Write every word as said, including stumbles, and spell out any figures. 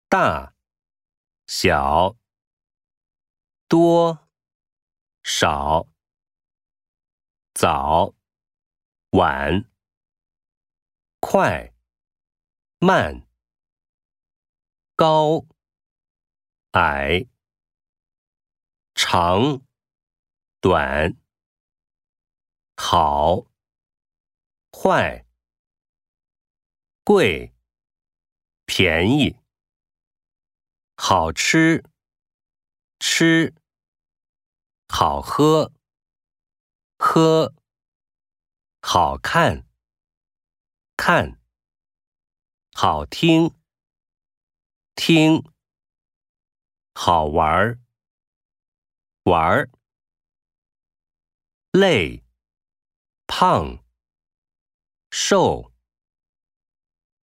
大、小、多、少、早、晚、快、慢、高、矮、长、短、好、坏、贵、便宜、好吃、吃、好喝、喝、好看、看、好听、听、好玩、玩、累、胖、瘦、